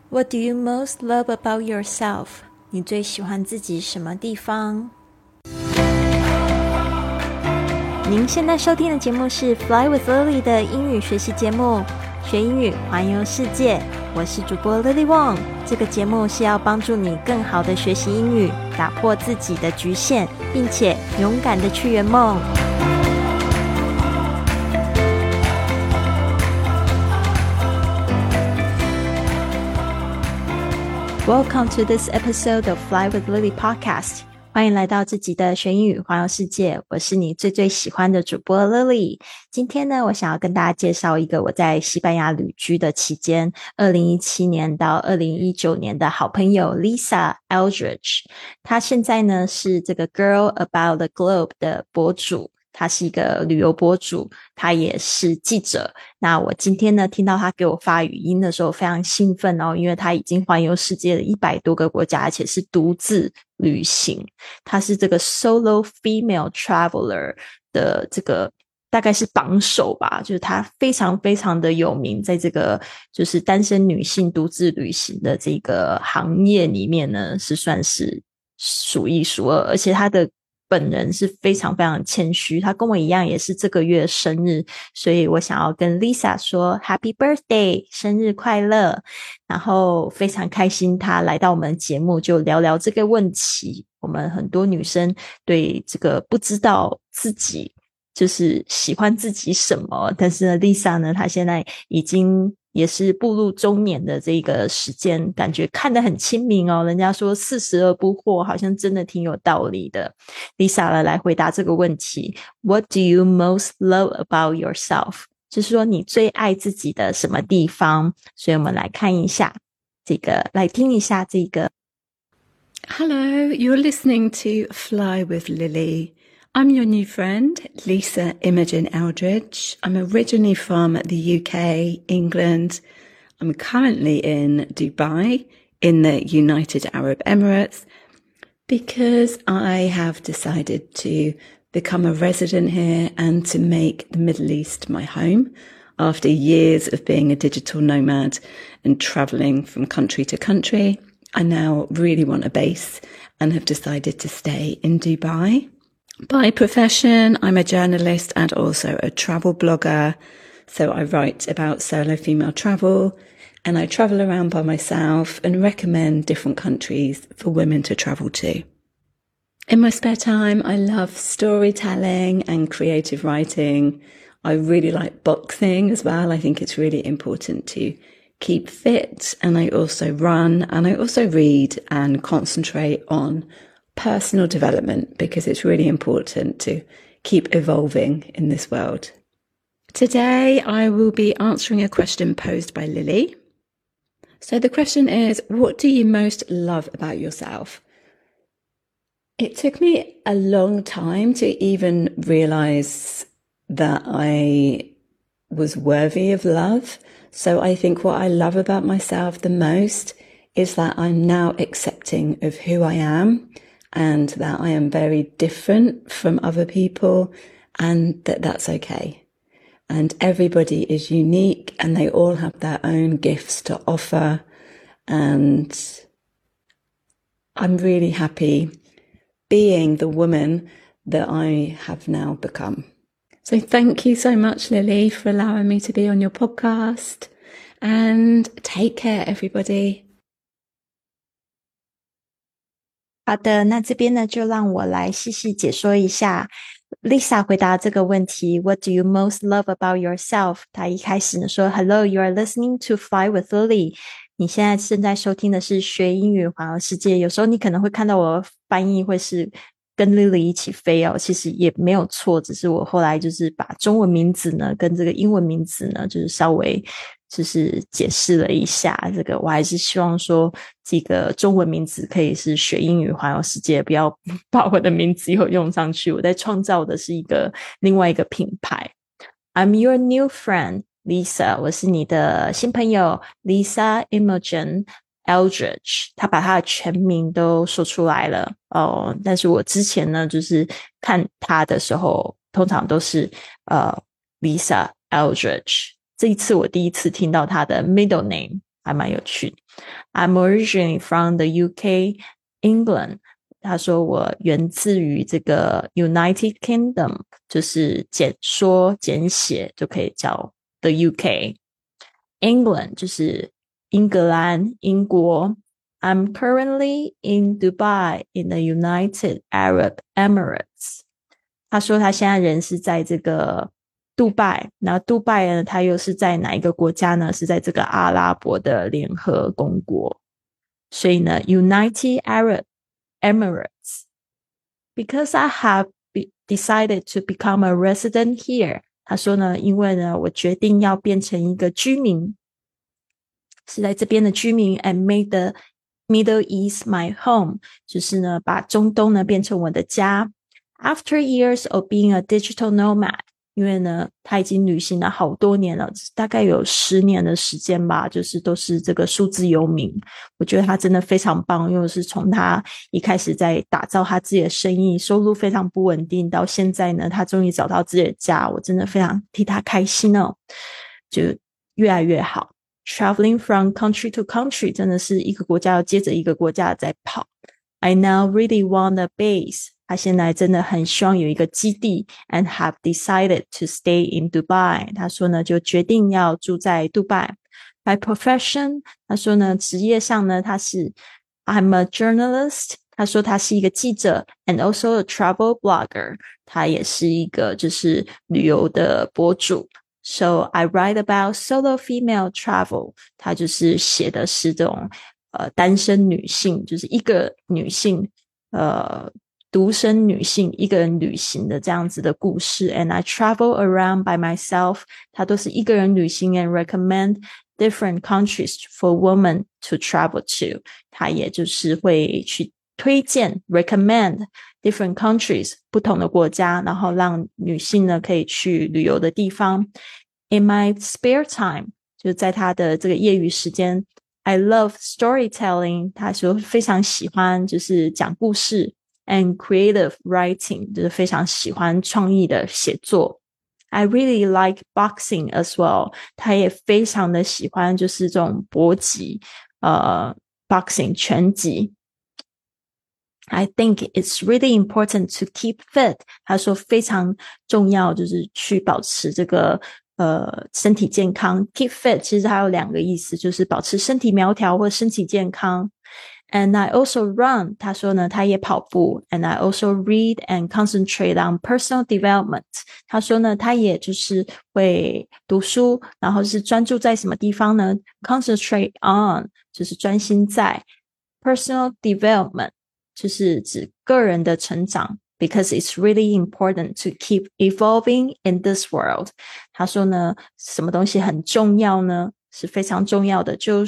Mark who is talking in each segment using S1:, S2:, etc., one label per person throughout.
S1: What do you most love about yourself? 你最喜欢自己什么地方？您现在收听的节目是 Fly with Lily 的英语学习节目，学英语环游世界。我是主播 Lily Wong。这个节目是要帮助你更好的学习英语，打破自己的局限，并且勇敢的去圆梦。Welcome to this episode of Fly with Lily podcast. 欢迎来到这集的学英语环游世界，我是你最喜欢的主播 Lily。今天呢，我想要跟大家介绍一个我在西班牙旅居的期间2017年到2019年的好朋友 Lisa Eldridge。她现在呢是这个 Girl About the Globe 的博主，他是一个旅游博主，他也是记者。那我今天呢听到他给我发语音的时候非常兴奋哦，因为他已经环游世界的100多个国家，而且是独自旅行。他是这个 solo female traveler 的这个大概是榜首吧，就是他非常的有名，在这个就是单身女性独自旅行的这个行业里面呢，是算是数一数二，而且他的本人是非常谦虚，他跟我一样也是这个月生日，所以我想要跟 Lisa 说 Happy Birthday 生日快乐，然后非常开心他来到我们的节目，就聊聊这个问题。我们很多女生对这个不知道自己就是喜欢自己什么，但是呢 Lisa 呢，她现在已经也是步入中年的这个时间，感觉看得很清明哦。人家说40而不惑，好像真的挺有道理的。Lisa 呢来回答这个问题 What do you most love about yourself? 就是说你最爱自己的什么地方？所以我们来看一下这个，来听一下这个。
S2: Hello, you're listening to Fly with Lily. I'm your new friend, Lisa Imogen Eldridge. I'm originally from the UK, England. I'm currently in Dubai, in the United Arab Emirates, because I have decided to become a resident here and to make the Middle East my home after years of being a digital nomad and traveling from country to country. I now really want a base and have decided to stay in Dubai. By profession, I'm a journalist and also a travel blogger. So I write about solo female travel and I travel around by myself and recommend different countries for women to travel to. In my spare time, I love storytelling and creative writing. I really like boxing as well. I think it's really important to keep fit, and I also run, and I also read and concentrate on personal development because it's really important to keep evolving in this world. Today, I will be answering a question posed by Lily. So the question is, what do you most love about yourself? It took me a long time to even realize that I was worthy of love. So I think what I love about myself the most is that I'm now accepting of who I am and that I am very different from other people and that that's okay. And everybody is unique and they all have their own gifts to offer. And I'm really happy being the woman that I have now become. So thank you so much, Lily, for allowing me to be on your podcast. And take care, everybody.
S1: 好的，那这边呢，就让我来细细解说一下 Lisa 回答这个问题 What do you most love about yourself? 她一开始呢说 Hello, you are listening to Fly with Lily. 你现在正在收听的是学英语环游世界。有时候你可能会看到我翻译会是跟 Lily 一起飞哦，其实也没有错，只是我后来就是把中文名字呢跟这个英文名字呢就是稍微就是解释了一下，这个我还是希望说这个中文名字可以是学英语环游世界，不要把我的名字又用上去，我在创造的是另外一个品牌。 I'm your new friend Lisa， 我是你的新朋友 Lisa Imogen Eldridge， 他把他的全名都说出来了哦。但是我之前呢，就是看他的时候，通常都是Lisa Eldridge。这一次我第一次听到他的 middle name 还蛮有趣的。I'm originally from the UK, England. 他说我源自于这个 United Kingdom, 就是简写就可以叫 the UK. England 就是英格兰英国。I'm currently in Dubai in the United Arab Emirates. 他说他现在人是在这个杜拜，那杜拜呢，他又是在哪一个国家呢？是在这个阿拉伯的联合公国。所以呢 United Arab Emirates. Because I have decided to become a resident here. 他说呢，因为呢我决定要变成一个居民，是在这边的居民 and made the Middle East my home. 就是呢把中东呢变成我的家。After years of being a digital nomad, 因为呢他已经旅行了好多年了，大概有10年的时间吧，就是都是这个数字游民。我觉得他真的非常棒，因为是从他一开始在打造他自己的生意，收入非常不稳定，到现在呢他终于找到自己的家，我真的非常替他开心哦，就越来越好。Traveling from country to country, 真的是一个国家要接着一个国家在跑。I now really want a base. 他现在真的很希望有一个基地 and have decided to stay in Dubai. 他说呢就决定要住在杜拜。By profession, 他说呢职业上呢他是 I'm a journalist. 他说他是一个记者 and also a travel blogger. 他也是一个就是旅游的博主。So I write about solo female travel. 他就是写的是这种单身女性，就是一个女性独生女性一个人旅行的这样子的故事。And I travel around by myself. 他都是一个人旅行 and recommend different countries for women to travel to. 他也就是会去推荐 recommend different countries 不同的国家，然后让女性呢可以去旅游的地方。In my spare time, 就在他的这个业余时间 I love storytelling. 他说非常喜欢就是讲故事 and creative writing, 就是非常喜欢创意的写作。I really like boxing as well. 他也非常的喜欢就是这种搏击boxing 拳击。I think it's really important to keep fit. 他说非常重要就是去保持这个身体健康。Keep fit 其实还有2个意思，就是保持身体苗条或身体健康。And I also run. 他说呢他也跑步。And I also read and concentrate on personal development. 他说呢他也就是会读书，然后是专注在什么地方呢？ Concentrate on 就是专心在。Personal development 就是指个人的成长。Because it's really important to keep evolving in this world. 他说呢什么东西很重要呢？是非常重要的，就是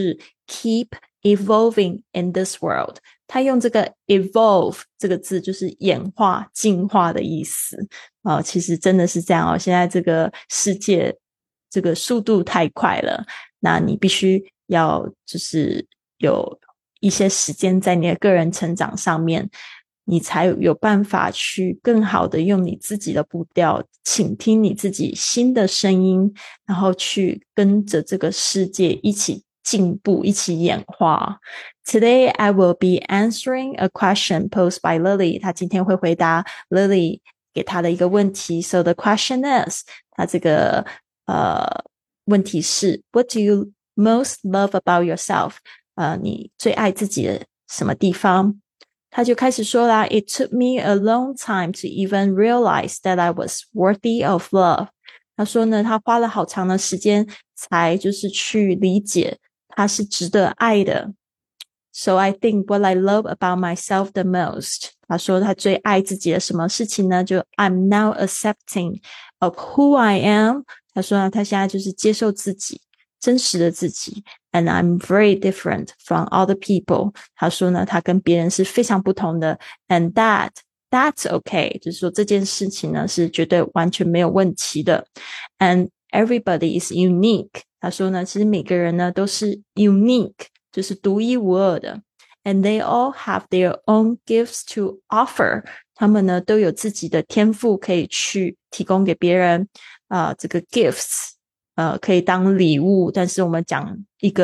S1: keep evolving in this world. 他用这个 evolve 这个字就是演化进化的意思其实真的是这样现在这个世界这个速度太快了，那你必须要就是有一些时间在你的个人成长上面，你才有办法去更好的用你自己的步调倾听你自己新的声音，然后去跟着这个世界一起进步，一起演化。Today I will be answering a question posed by Lily. 他今天会回答 Lily 给他的一个问题。So the question is, 他这个问题是 What do you most love about yourself? 你最爱自己的什么地方？他就开始说啦 It took me a long time to even realize that I was worthy of love. 他说呢他花了好长的时间才就是去理解他是值得爱的。So I think what I love about myself the most. 他说他最爱自己的什么事情呢？就 I'm now accepting of who I am. 他说呢他现在就是接受自己，真实的自己。And I'm very different from other people. 他说呢他跟别人是非常不同的。And that's okay. 就是说这件事情呢是绝对完全没有问题的。And everybody is unique. 他说呢其实每个人呢都是 unique, 就是独一无二的。And they all have their own gifts to offer. 他们呢都有自己的天赋可以去提供给别人这个 gifts可以当礼物，但是我们讲一个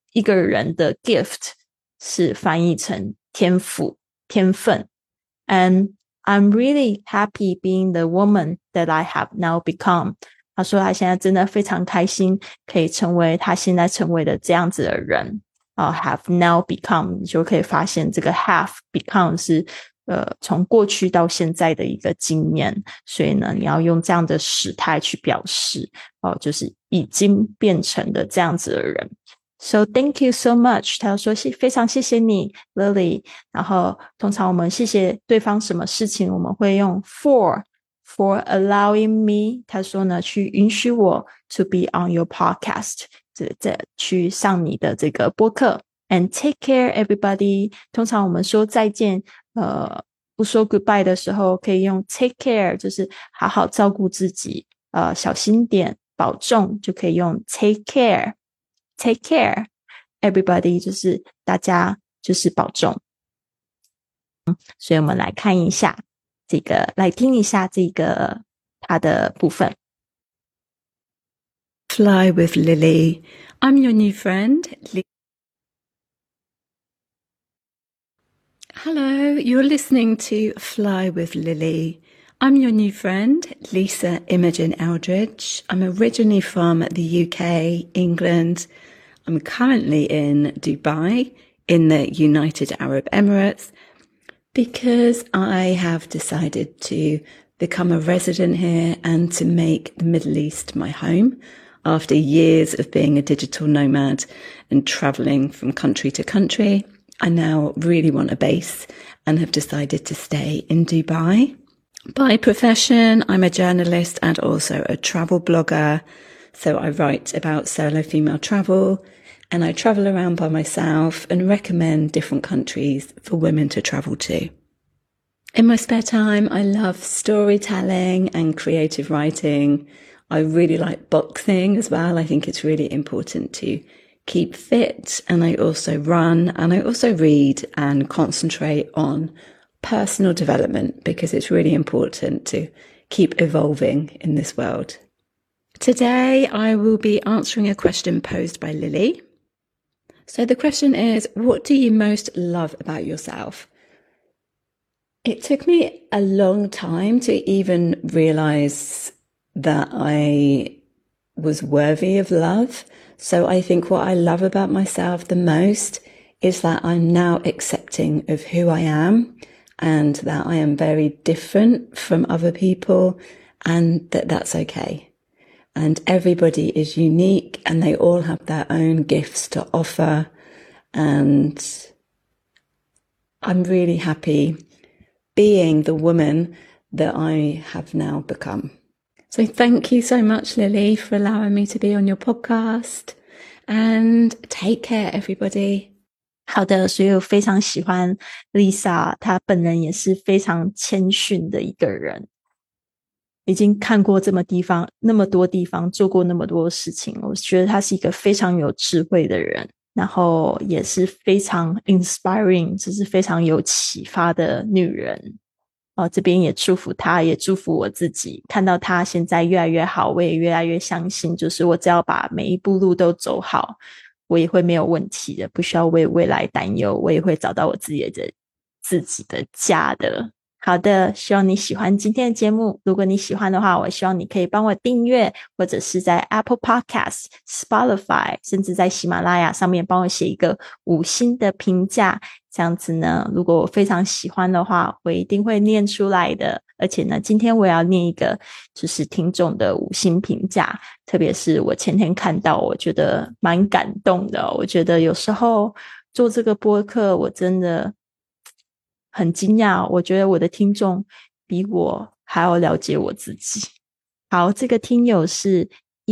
S1: 一个人的 gift 是翻译成天赋、天分。And I'm really happy being the woman that I have now become. 他说他现在真的非常开心可以成为他现在成为的这样子的人。have now become 你就可以发现这个 have become 是从过去到现在的一个经验，所以呢你要用这样的时态去表示就是已经变成的这样子的人。So thank you so much. 他说非常谢谢你 Lily. 然后通常我们谢谢对方什么事情我们会用 for allowing me. 他说呢去允许我 to be on your podcast. 去上你的这个播客。And take care everybody. 通常我们说再见不说 goodbye 的时候可以用 take care 就是好好照顾自己小心点保重就可以用 take care everybody 就是大家就是保重。所以我们来看一下这个来听一下这个它的部分。
S2: Fly with Lily. I'm your new friend. Hello, you're listening to Fly with Lily. I'm your new friend, Lisa Imogen Eldridge. I'm originally from the UK, England. I'm currently in Dubai, in the United Arab Emirates, because I have decided to become a resident here and to make the Middle East my home. After years of being a digital nomad and traveling from country to country, I now really want a base and have decided to stay in Dubai. By profession, I'm a journalist and also a travel blogger. So I write about solo female travel and I travel around by myself and recommend different countries for women to travel to. In my spare time, I love storytelling and creative writing. I really like boxing as well. I think it's really important to keep fit, and I also run and I also read and concentrate on personal development because it's really important to keep evolving in this world. Today I will be answering a question posed by Lily. So the question is, what do you most love about yourself? It took me a long time to even realize that I was worthy of love. So I think what I love about myself the most is that I'm now accepting of who I am and that I am very different from other people and that that's okay. And everybody is unique and they all have their own gifts to offer. And I'm really happy being the woman that I have now become. So thank you so much, Lily, for allowing me to be on your podcast. And take care, everybody.
S1: 好的，所以我非常喜欢 Lisa， 她本人也是非常谦逊的一个人，已经看过那么多地方，做过那么多事情，我觉得她是一个非常有智慧的人，然后也是非常 inspiring， 就是非常有启发的女人。这边也祝福她，也祝福我自己，看到她现在越来越好，我也越来越相信，就是我只要把每一步路都走好，我也会没有问题的，不需要为未来担忧，我也会找到我自己的家的。好的，希望你喜欢今天的节目。如果你喜欢的话，我希望你可以帮我订阅，或者是在 Apple Podcast、Spotify， 甚至在喜马拉雅上面帮我写一个5星的评价。这样子呢，如果我非常喜欢的话，我一定会念出来的。而且呢，今天我也要念一个就是听众的5星评价，特别是我前天看到，我觉得蛮感动的。我觉得有时候做这个播客，我真的很惊讶，我觉得我的听众比我还要了解我自己。好，这个听友是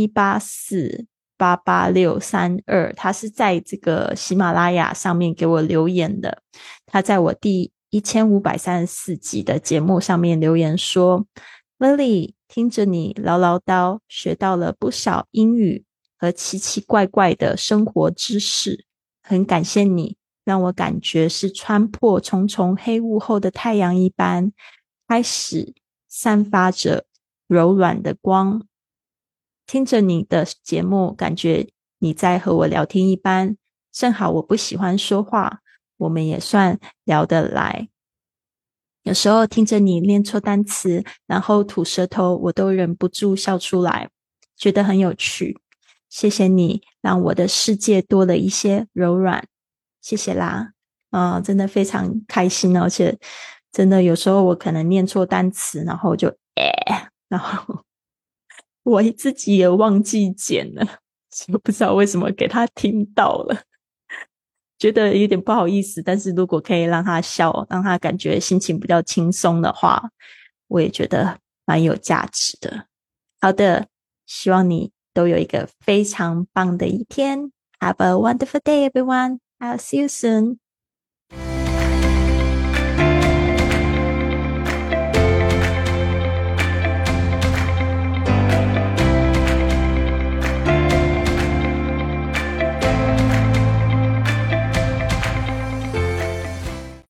S1: 184888632，他是在这个喜马拉雅上面给我留言的。他在我第1534集的节目上面留言说， Lily， 听着你唠唠叨，学到了不少英语和奇奇怪怪的生活知识，很感谢你，让我感觉是穿破重重黑雾后的太阳一般，开始散发着柔软的光。听着你的节目，感觉你在和我聊天一般， 正好我不喜欢说话，我们也算聊得来。有时候听着你念错单词，然后吐舌头，我都忍不住笑出来，觉得很有趣。谢谢你让我的世界多了一些柔软，谢谢啦。真的非常开心哦，而且真的有时候我可能念错单词，然后就然后我自己也忘记剪了，就不知道为什么给他听到了。觉得有点不好意思，但是如果可以让他笑，让他感觉心情比较轻松的话，我也觉得蛮有价值的。好的，希望你都有一个非常棒的一天。Have a wonderful day, everyone. I'll see you soon.